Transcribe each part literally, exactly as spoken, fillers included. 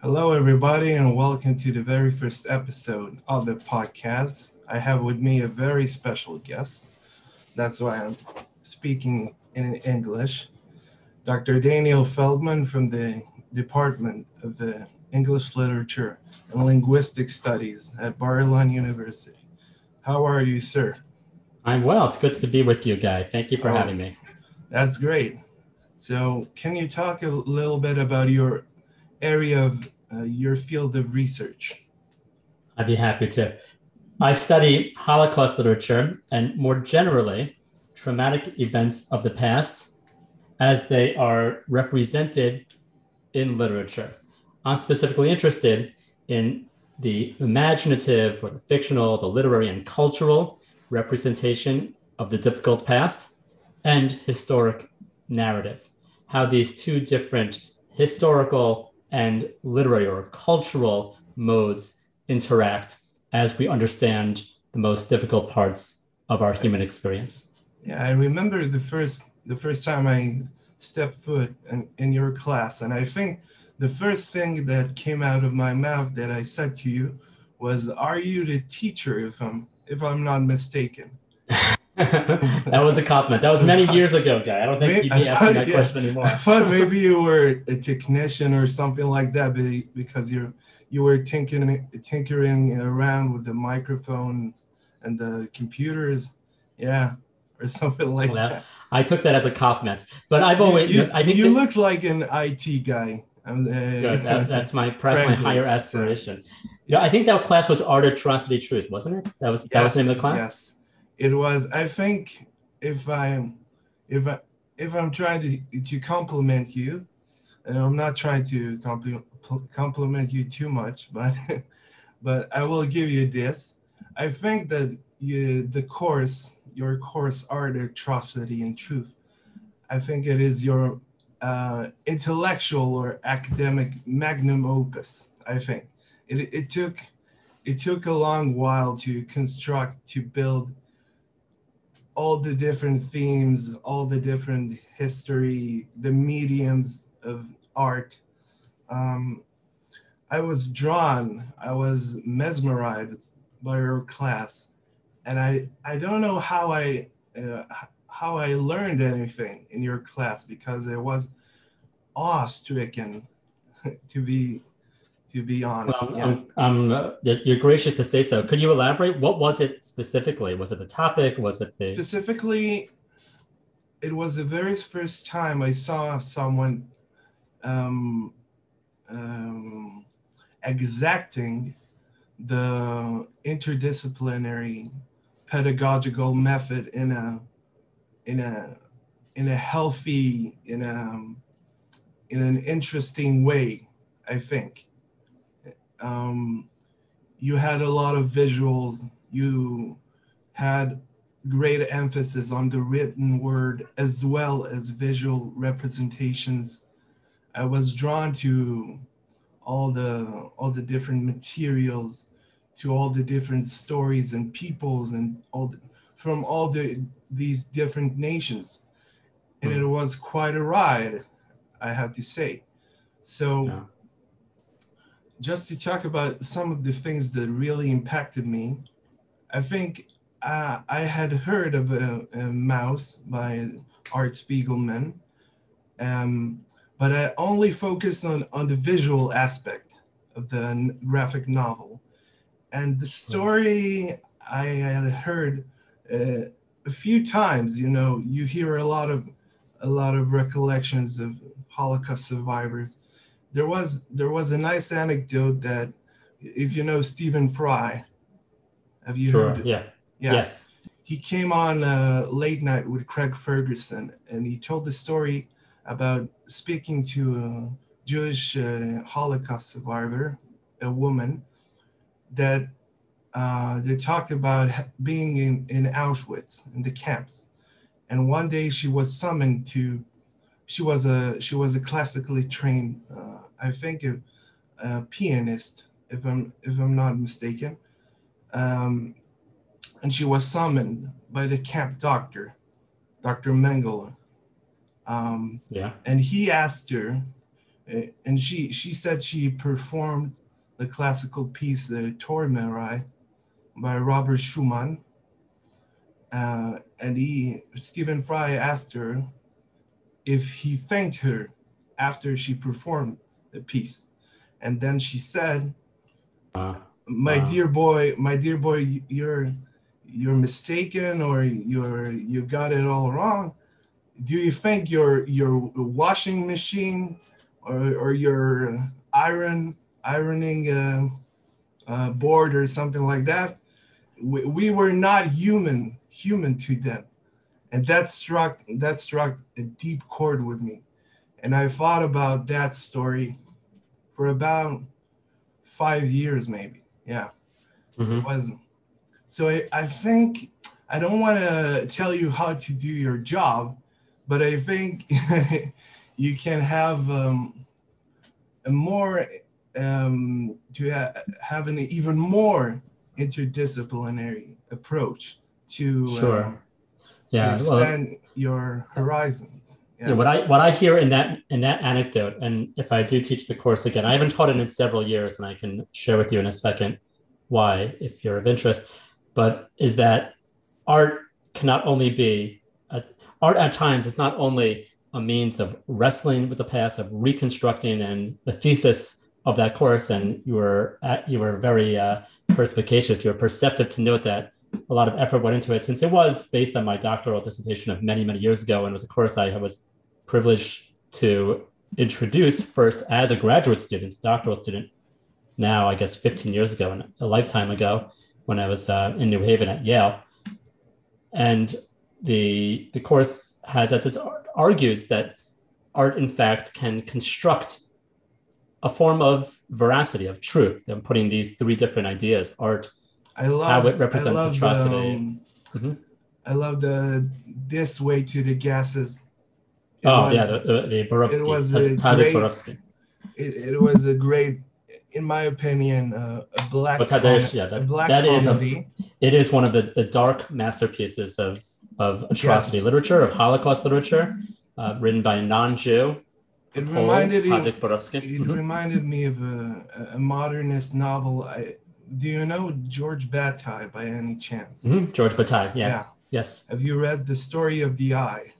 Hello, everybody, and welcome to the very first episode of the podcast. I have with me a very special guest. That's why I'm speaking in English. Doctor Daniel Feldman from the Department of the English Literature and Linguistic Studies at Bar-Ilan University. How are you, sir? I'm well. It's good to be with you, Guy. Thank you for Oh, having me. that's great. So, can you talk a little bit about your area of uh, your field of research? I'd be happy to. I study Holocaust literature and more generally, traumatic events of the past as they are represented in literature. I'm specifically interested in the imaginative or the fictional, the literary and cultural representation of the difficult past and historic narrative, how these two different historical and literary or cultural modes interact as we understand the most difficult parts of our human experience. Yeah, I remember the first the first time I stepped foot in, in your class, and I think the first thing that came out of my mouth that I said to you was, "Are you the teacher?" If I'm if I'm not mistaken. That was a compliment. That was many years ago, Guy. I don't think Maybe, you'd I be asking thought, that yeah, question I anymore. thought maybe you were a technician or something like that, because you you were tinkering tinkering around with the microphones and the computers, yeah, or something like Well, that. I took that as a compliment, but I've You always, you you know, I think you that look like an I T guy. Um, good. That, uh, that's my perhaps my frankly, higher so aspiration. You know, I think that class was Art, Atrocity, Truth, wasn't it? That was that was the name of yes, the class. yes, it was. I think if I'm if I if I'm trying to to compliment you, and I'm not trying to compliment compliment you too much, but but I will give you this. I think that you, the course, your course, Art, Atrocity, and Truth, I think it is your uh, intellectual or academic magnum opus. I think it, it took it took a long while to construct, to build all the different themes, all the different history, the mediums of art. Um, I was drawn, I was mesmerized by your class, and I I don't know how I uh, how I learned anything in your class, because I was awe-stricken to be to be honest. Well, Yeah. I'm, I'm, uh, you're gracious to say so. Could you elaborate? What was it specifically? Was it the topic? Was it the Specifically, it was the very first time I saw someone um, um, exacting the interdisciplinary pedagogical method in a in a in a healthy, in a in an interesting way, I think. Um, you had a lot of visuals. You had great emphasis on the written word as well as visual representations. I was drawn to all the all the different materials, to all the different stories and peoples, and all the, from all the these different nations, and it hmm, was quite a ride, I have to say. So, yeah. just to talk about some of the things that really impacted me, I think uh, I had heard of a, a Mouse by Art Spiegelman, um, but I only focused on, on the visual aspect of the n- graphic novel. And the Right. story I had heard uh, a few times. You know, you hear a lot of a lot of recollections of Holocaust survivors. There was there was a nice anecdote that, if you know Stephen Fry, have you Sure. heard? Yeah. Yeah, Yes. he came on uh, late night with Craig Ferguson, and he told the story about speaking to a Jewish uh, Holocaust survivor, a woman that uh, they talked about being in, in Auschwitz in the camps. And one day she was summoned to. She was a she was a classically trained, uh, I think, a, a pianist, if I'm if I'm not mistaken. Um, and she was summoned by the camp doctor, Doctor Mengele. Um, Yeah. and he asked her, Uh, and she she said she performed the classical piece, the Tormerei, by Robert Schumann. Uh, and he, Stephen Fry asked her if he thanked her after she performed the piece. And then she said, Uh, my wow. dear boy, my dear boy, you're you're mistaken, or you're you got it all wrong. Do you think your your washing machine or, or your iron ironing uh, uh, board or something like that, we, we were not human human to them? And that struck that struck a deep chord with me. And I thought about that story for about five years, maybe. Yeah, it Mm-hmm. was. So I, I think I don't want to tell you how to do your job, but I think you can have um, a more um, to ha- have an even more interdisciplinary approach to um, Sure. to Yeah. Well, expand your horizons. yeah, Yeah. what I what I hear in that in that anecdote, and if I do teach the course again, I haven't taught it in several years, and I can share with you in a second why, if you're of interest. But is that art cannot only be a, art at times is not only a means of wrestling with the past, of reconstructing, and the thesis of that course. And you were at, you were very uh, perspicacious. You were perceptive to note that a lot of effort went into it, since it was based on my doctoral dissertation of many many years ago, and it was a course I was privileged to introduce first as a graduate student, doctoral student, now I guess fifteen years ago and a lifetime ago when I was uh, in New Haven at Yale. And the the course has, as it argues, that art in fact can construct a form of veracity, of truth. I'm putting these three different ideas: art, I how love it I represents love the atrocity. um, Mm-hmm. I love the this way to the gases. It Oh yeah, was the, the, the it Borowski, was a Tadek great Borowski. it, it was a great, in my opinion, uh, a Well, black com- Tadeusz, yeah, a that black that is a comedy. it is one of the, the dark masterpieces of of atrocity Yes, literature, of Holocaust literature, uh, written by a non-Jew, a it Pole, reminded him. Tadek Borowski. It Mm-hmm. reminded me of a, a modernist novel. I, do you know George Bataille by any chance? Mm-hmm. George Bataille, yeah, Yeah. yes, Have you read The Story of the Eye?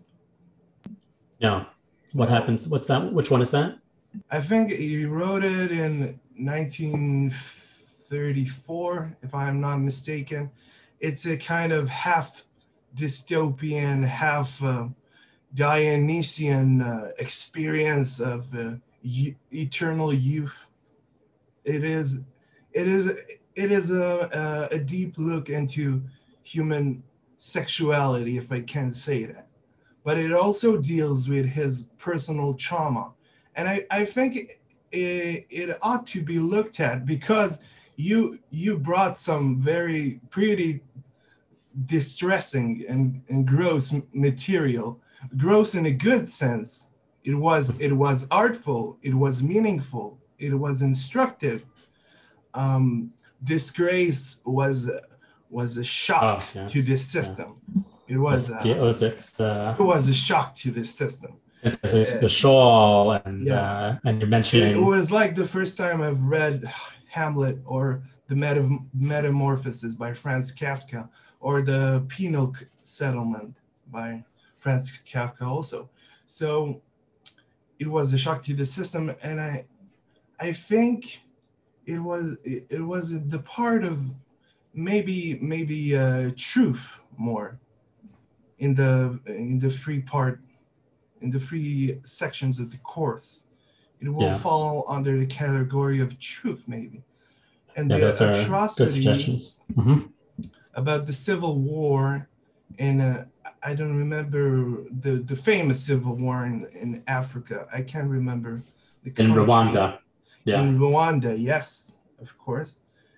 no. What No. happens? What's that? Which one is that? I think he wrote it in nineteen thirty-four, if I'm not mistaken. It's a kind of half dystopian, half uh, Dionysian uh, experience of uh, y- eternal youth. It is, it is, it is a, a, a deep look into human sexuality, if I can say that. But it also deals with his personal trauma. And I, I think it, it ought to be looked at because you you brought some very pretty distressing and, and gross material, gross in a good sense. It was it was artful, it was meaningful, it was instructive. Um, Disgrace was was a shock Oh to yes, this yeah. system. It was Lesbia uh, Ozik's, uh, it was a shock to this system. Uh, the shawl, and yeah, uh, and you're it mentioning. was like the first time I've read Hamlet or the Meta- Metamorphoses by Franz Kafka or the Penal Settlement by Franz Kafka also. So it was a shock to the system, and I I think it was it, it was the part of maybe maybe uh, truth more in the in the free part in the free sections of the course. It will Yeah, fall under the category of truth, maybe. And yeah, the those are good atrocity suggestions. Mm-hmm. about the Civil War in, uh, I don't remember the, the famous Civil War in, in Africa. I can't remember the In country. Rwanda, yeah, In Rwanda, yes, of course.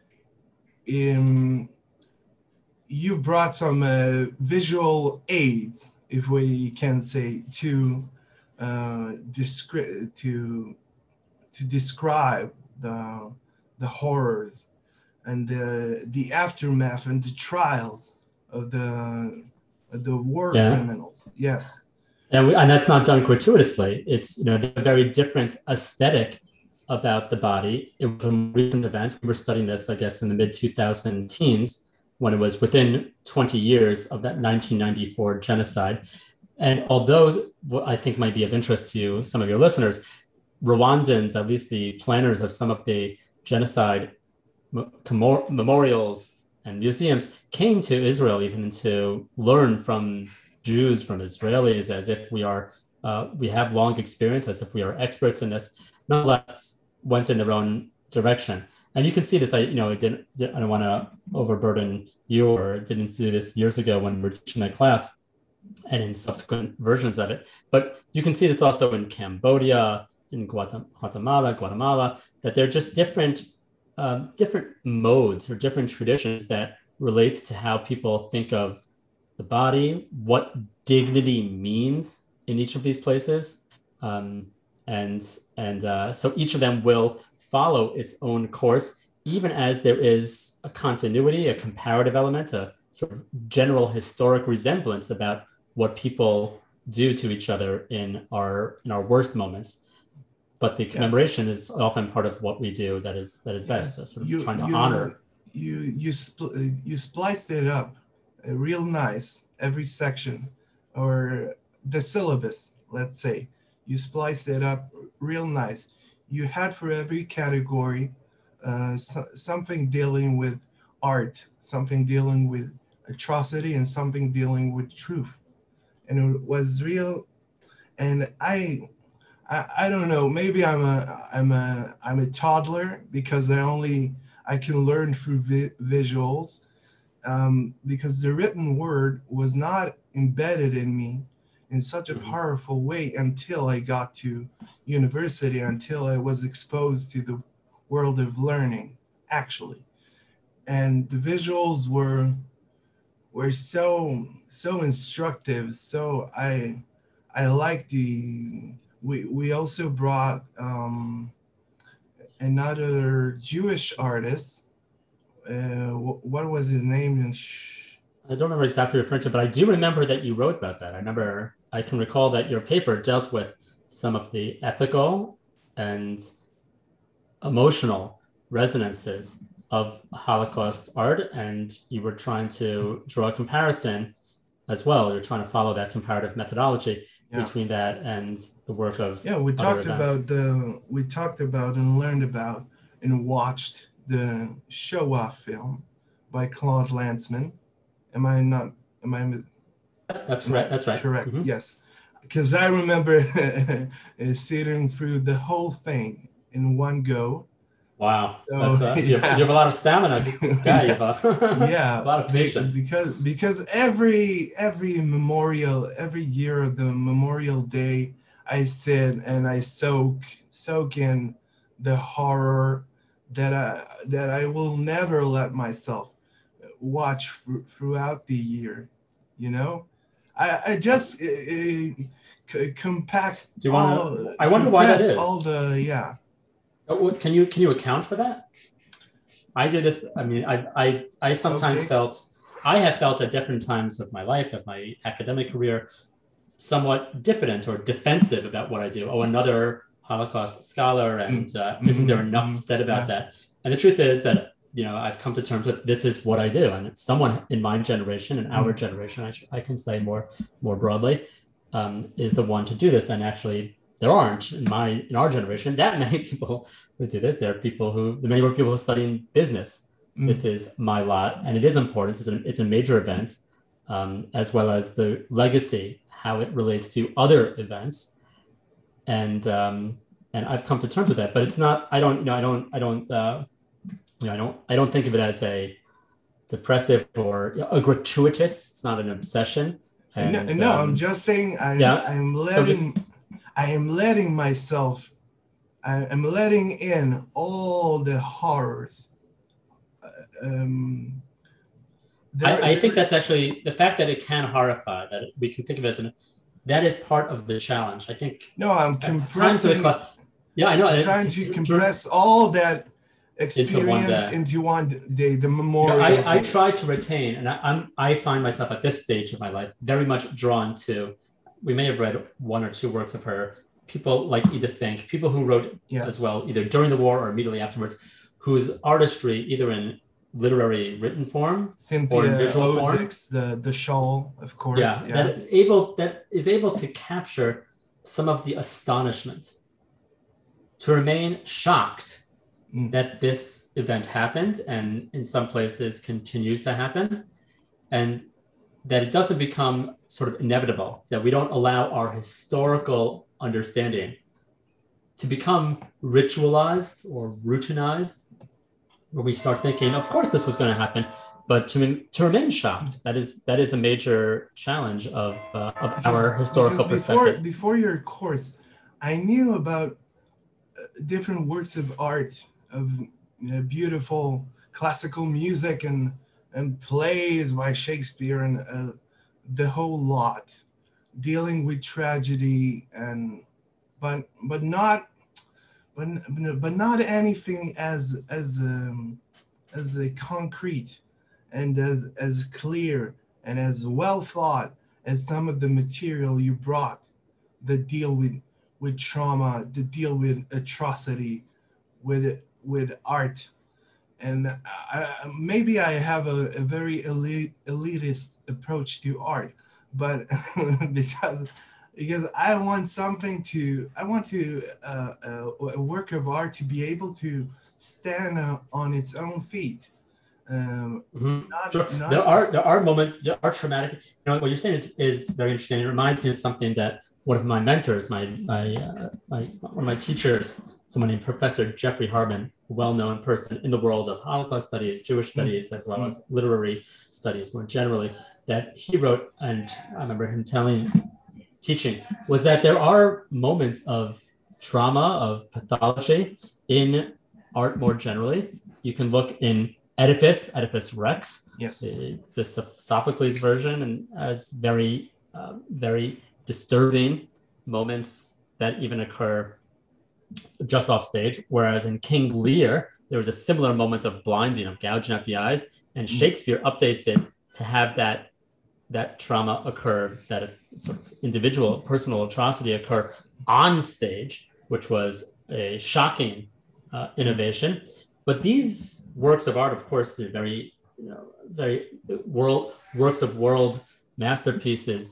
In, you brought some uh, visual aids, if we can say, to uh, descri- to to describe the the horrors and the the aftermath and the trials of the of the war yeah. criminals. Yes, And, we, and that's not done gratuitously. It's, you know, a very different aesthetic about the body. It was a recent event. We were studying this, I guess, in the mid two thousand teens, when it was within twenty years of that nineteen ninety-four genocide. And although what I think might be of interest to some of your listeners, Rwandans, at least the planners of some of the genocide memorials and museums, came to Israel even to learn from Jews, from Israelis, as if we are, uh, we have long experience, as if we are experts in this, nonetheless went in their own direction. And you can see this, I, you know, it didn't, I don't want to overburden you, or didn't do this years ago when we were teaching that class and in subsequent versions of it. But you can see this also in Cambodia, in Guatemala, Guatemala, that they're just different, um, different modes or different traditions that relate to how people think of the body, what dignity means in each of these places. Um, and and uh, so each of them will follow its own course, even as there is a continuity, a comparative element, a sort of general historic resemblance about what people do to each other in our in our worst moments. But the commemoration yes. is often part of what we do that is that is best, yes. sort of you, trying to you, honor. You you spl- you spliced it up uh, real nice, every section, or the syllabus, let's say. You spliced it up real nice. You had for every category uh, so, something dealing with art, something dealing with atrocity, and something dealing with truth. And it was real. And I, I, I don't know. Maybe I'm a, I'm a, I'm a toddler because I only I can learn through vi- visuals, um, because the written word was not embedded in me in such a powerful way until I got to university, until I was exposed to the world of learning, actually. And the visuals were were so so instructive. So I I like the we we also brought um, another Jewish artist. Uh, what was his name? I don't remember exactly referring to, but I do remember that you wrote about that. I remember, I can recall that your paper dealt with some of the ethical and emotional resonances of Holocaust art, and you were trying to draw a comparison as well. You're trying to follow that comparative methodology yeah. between that and the work of yeah. We talked events. about the we talked about and learned about and watched the Shoah film by Claude Lanzmann. Am I not? Am I? That's correct. That's right. Correct. Mm-hmm. Yes, because I remember sitting through the whole thing in one go. Wow, so, That's, uh, you, have, you have a lot of stamina, guy. You have a, yeah, a lot of patience. Because because every every memorial, every year of the Memorial Day, I sit and I soak soak in the horror that I that I will never let myself watch f- throughout the year. You know, I I just uh, c- compact. Do you want to? I wonder why that is. All the yeah. Can you can you account for that? I do this. I mean, I I I sometimes okay. felt I have felt at different times of my life, of my academic career, somewhat diffident or defensive about what I do. Oh, another Holocaust scholar, and uh, mm-hmm. isn't there enough mm-hmm. said about yeah. that? And the truth is that, you know, I've come to terms with this is what I do, and it's someone in my generation, in our mm-hmm. generation, I, I can say more more broadly, um, is the one to do this. And actually, there aren't in my in our generation that many people who do this. There are people who, many more people who study business. Mm. This is my lot, and it is important. It's a, it's a major event, um, as well as the legacy, how it relates to other events, and um, and I've come to terms with that. But it's not. I don't. You know. I don't. I don't. Uh, you know. I don't. I don't think of it as a depressive or you know, a gratuitous. It's not an obsession. And, no, no um, I'm just saying. I'm. Yeah, I'm letting. So just, I am letting myself, I am letting in all the horrors. Um, there, I, I think that's actually, the fact that it can horrify, that we can think of it as an, that is part of the challenge. I think. No, I'm compressing. Cl- yeah, I know. I'm trying to compress all that experience into one day. Into one day the memorial. You know, I, I try to retain, and I, I'm, I find myself at this stage of my life very much drawn to we may have read one or two works of her. People like Edith Finch, people who wrote Yes. as well, either during the war or immediately afterwards, whose artistry, either in literary written form Cynthia or in visual form, Ozick's, the the shawl, of course. yeah, Yeah, that able that is able to capture some of the astonishment, to remain shocked Mm. that this event happened and in some places continues to happen, and that it doesn't become sort of inevitable, that we don't allow our historical understanding to become ritualized or routinized, where we start thinking, of course this was going to happen, but to, to remain shocked, that is that is a major challenge of, uh, of because, our historical because before, perspective. Before your course, I knew about different works of art, of you know, beautiful classical music and and plays by Shakespeare and uh, the whole lot, dealing with tragedy and but but not but but not anything as as um, as a concrete and as as clear and as well thought as some of the material you brought that deal with with trauma, that deal with atrocity, with with art. And I, maybe I have a, a very elite, elitist approach to art, but because because I want something to, I want to uh, a, a work of art to be able to stand uh, on its own feet. Um, Mm-hmm. not, Sure. not, there are there are moments, there are traumatic. You know what you're saying is, is very interesting. It reminds me of something that one of my mentors, my my, uh, my one of my teachers, someone named Professor Jeffrey Harbin, a well-known person in the world of Holocaust studies, Jewish studies, as well mm. as literary studies more generally, that he wrote, and I remember him telling, teaching, was that there are moments of trauma, of pathology in art more generally. You can look in Oedipus, Oedipus Rex, yes, the, the Sophocles version, and as very, uh, very disturbing moments that even occur just off stage. Whereas in King Lear, there was a similar moment of blinding, of gouging out the eyes, and Shakespeare mm. updates it to have that that trauma occur, that sort of individual, personal atrocity occur on stage, which was a shocking uh, innovation. But these works of art, of course, they're very, you know, very world works of world masterpieces,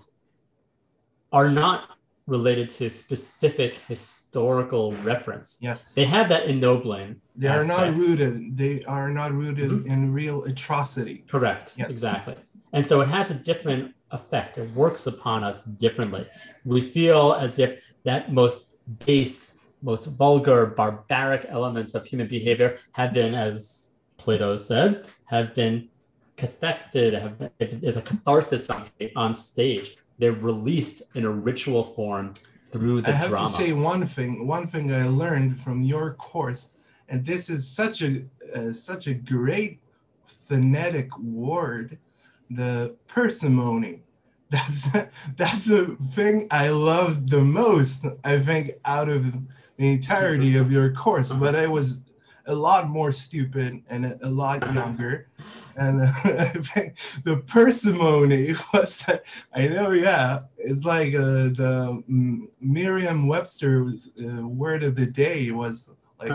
are not related to specific historical reference. Yes, they have that ennobling. They are aspect. not rooted. They are not rooted mm-hmm. in real atrocity. Correct. Yes, exactly. And so it has a different effect. It works upon us differently. We feel as if that most base, most vulgar, barbaric elements of human behavior have been, as Plato said, have been cathected, have been, there's a catharsis on, on stage. They're released in a ritual form through the I have drama. to say one thing, one thing I learned from your course, and this is such a uh, such a great phonetic word, the parsimony. That's that's the thing I loved the most, I think, out of the entirety of your course. But I was a lot more stupid and a, a lot younger. And uh, I think the parsimony was, I know, yeah, it's like uh, the um, Merriam-Webster's uh, word of the day was like,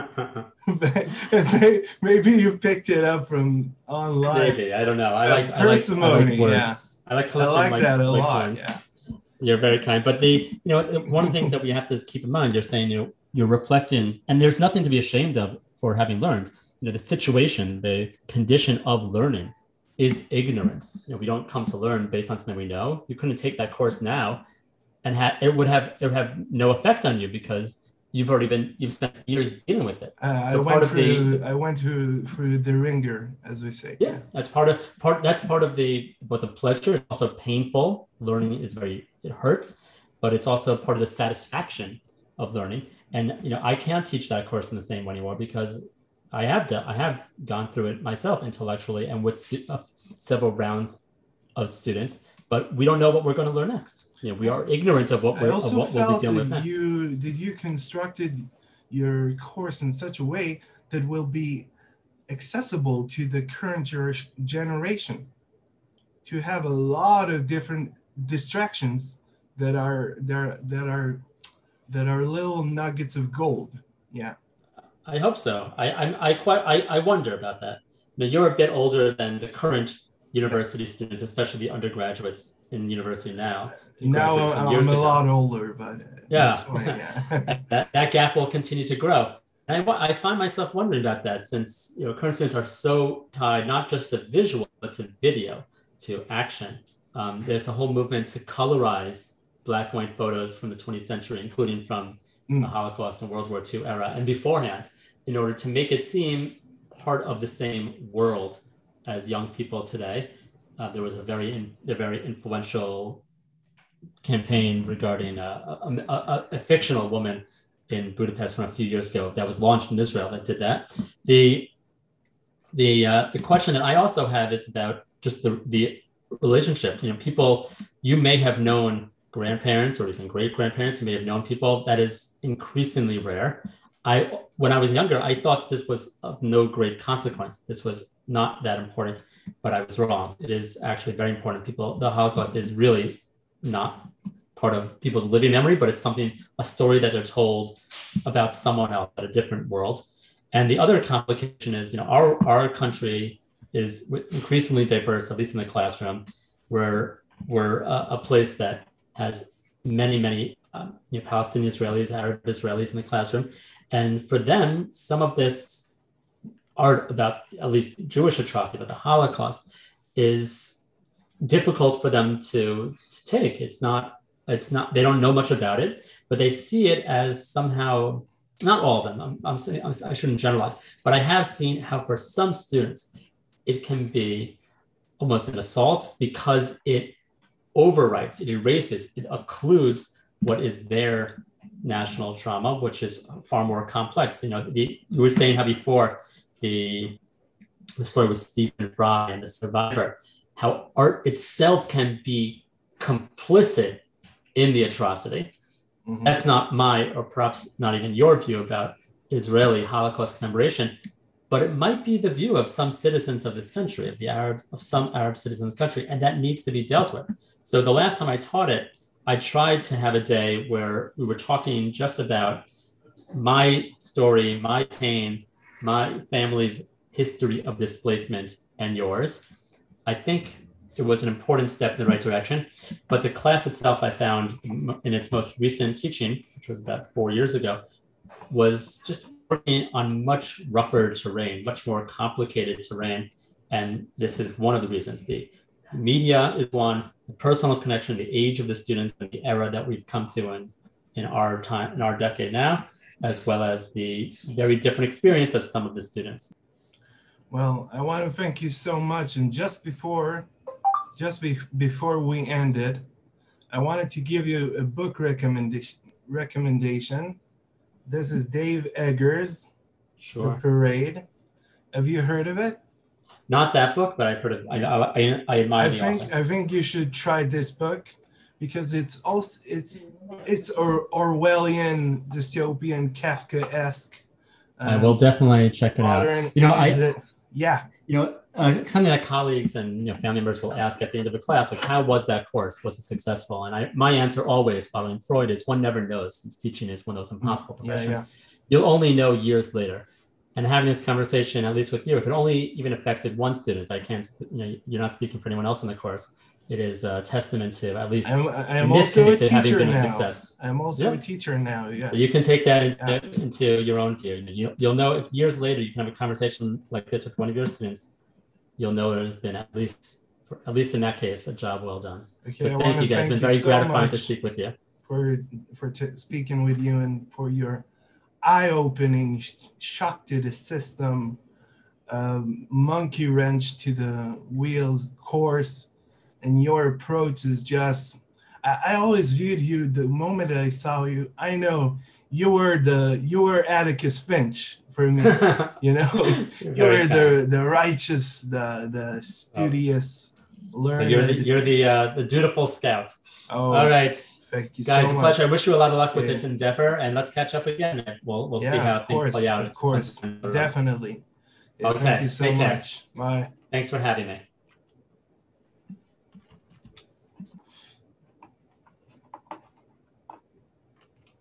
maybe you picked it up from online. Maybe, I don't know. I uh, like parsimony, I like, I like words. yeah. I like, I like like that a like lot. Ones. Yeah. You're very kind. But the, you know, one of the things that we have to keep in mind, you're saying, you know, you're reflecting, and there's nothing to be ashamed of for having learned. You know, the situation, the condition of learning is ignorance. You know, we don't come to learn based on something we know. You couldn't take that course now and ha- it would have it would have no effect on you because you've already been, you've spent years dealing with it. Uh, so I part went of through, the, I went through through the ringer, as we say. Yeah, that's part of part. That's part of the, but the pleasure is also painful. Learning is very, it hurts, but it's also part of the satisfaction of learning. And you know, I can't teach that course in the same way anymore because I have done, I have gone through it myself intellectually and with stu- uh, several rounds of students. But we don't know what we're going to learn next. You know, we are ignorant of what we're, I also of what felt we'll be dealing that with next. you did you constructed your course in such a way that will be accessible to the current generation, to have a lot of different distractions that are there that are that are little nuggets of gold. Yeah. I hope so. I I I quite I, I wonder about that. Now you're a bit older than the current university yes. students, especially the undergraduates in university now. Now I'm, I'm a ago. lot older, but yeah, fine, yeah. that, that gap will continue to grow. And I, I find myself wondering about that, since you know current students are so tied not just to visual but to video, to action. Um, there's a whole movement to colorize black and white photos from the twentieth century, including from mm. the Holocaust and World War Two era and beforehand, in order to make it seem part of the same world as young people today. Uh, there was a very, in, a very influential campaign regarding a, a, a, a fictional woman in Budapest from a few years ago that was launched in Israel that did that. The the uh, the question that I also have is about just the the relationship. You know, people, you may have known grandparents or even great grandparents, you may have known people. That is increasingly rare. I when I was younger, I thought this was of no great consequence. This was not that important, but I was wrong. It is actually very important. People, the Holocaust is really not part of people's living memory, but it's something, a story that they're told about someone else at a different world. And the other complication is, you know, our, our country is increasingly diverse, at least in the classroom. We're, we're a, a place that has many, many um, you know, Palestinian Israelis, Arab Israelis in the classroom. And for them, some of this art about at least Jewish atrocity, about the Holocaust, is difficult for them to, to take. It's not, it's not, they don't know much about it, but they see it as somehow, not all of them, I'm, I'm saying, I'm, I shouldn't generalize, but I have seen how for some students, it can be almost an assault because it overwrites, it erases, it occludes what is their national trauma, which is far more complex. You know, the, you were saying how before the, the story with Stephen Fry and the survivor, how art itself can be complicit in the atrocity. Mm-hmm. That's not my, or perhaps not even your view about Israeli Holocaust commemoration, but it might be the view of some citizens of this country, of the Arab, of some Arab citizens of this country, and that needs to be dealt with. So the last time I taught it, I tried to have a day where we were talking just about my story, my pain, my family's history of displacement and yours. I think it was an important step in the right direction, but the class itself, I found in its most recent teaching, which was about four years ago, was just working on much rougher terrain, much more complicated terrain. And this is one of the reasons. The media is one, the personal connection, the age of the students, and the era that we've come to in, in our time, in our decade now, as well as the very different experience of some of the students. Well, I want to thank you so much. And just before, just be, before we ended, I wanted to give you a book recommendation. recommendation. This is Dave Eggers, sure. The Parade. Have you heard of it? Not that book, but I've heard of. I I, I admire I the think author. I think you should try this book because it's also it's it's or, Orwellian, dystopian, Kafka-esque. Um, I will definitely check it modern, out. You know, I it, yeah. You know, uh, something that colleagues and you know family members will ask at the end of a class, like, how was that course? Was it successful? And I, my answer always, following Freud, is one never knows, since teaching is one of those impossible professions. Yeah, yeah. You'll only know years later. And having this conversation, at least with you, if it only even affected one student, I can't, you know, you're not speaking for anyone else in the course. It is a testament to, at least I'm, I'm in this also case, a it having teacher been a now. success. I'm also yeah. a teacher now. Yeah. So you can take that into, yeah. into your own view. You, you'll know if years later you can have a conversation like this with one of your students, you'll know it has been, at least, for, at least in that case, a job well done. Okay, so I thank you guys. It's been very so gratifying to speak with you. For for t- speaking with you and for your eye-opening, shock to the system, um, monkey wrench to the wheels course, and your approach is just. I, I always viewed you the moment I saw you. I know you were the you were Atticus Finch. For me, you know, you were the the righteous, the the studious, oh. learned. You're the you're the uh, the dutiful scout. Oh, all right, thank you, guys. so a much. pleasure. I wish you a lot of luck with yeah. this endeavor, and let's catch up again. We'll we'll yeah, see how things course, play out. Of course, definitely. Yeah, okay, thank you so take much. Care. Bye. Thanks for having me.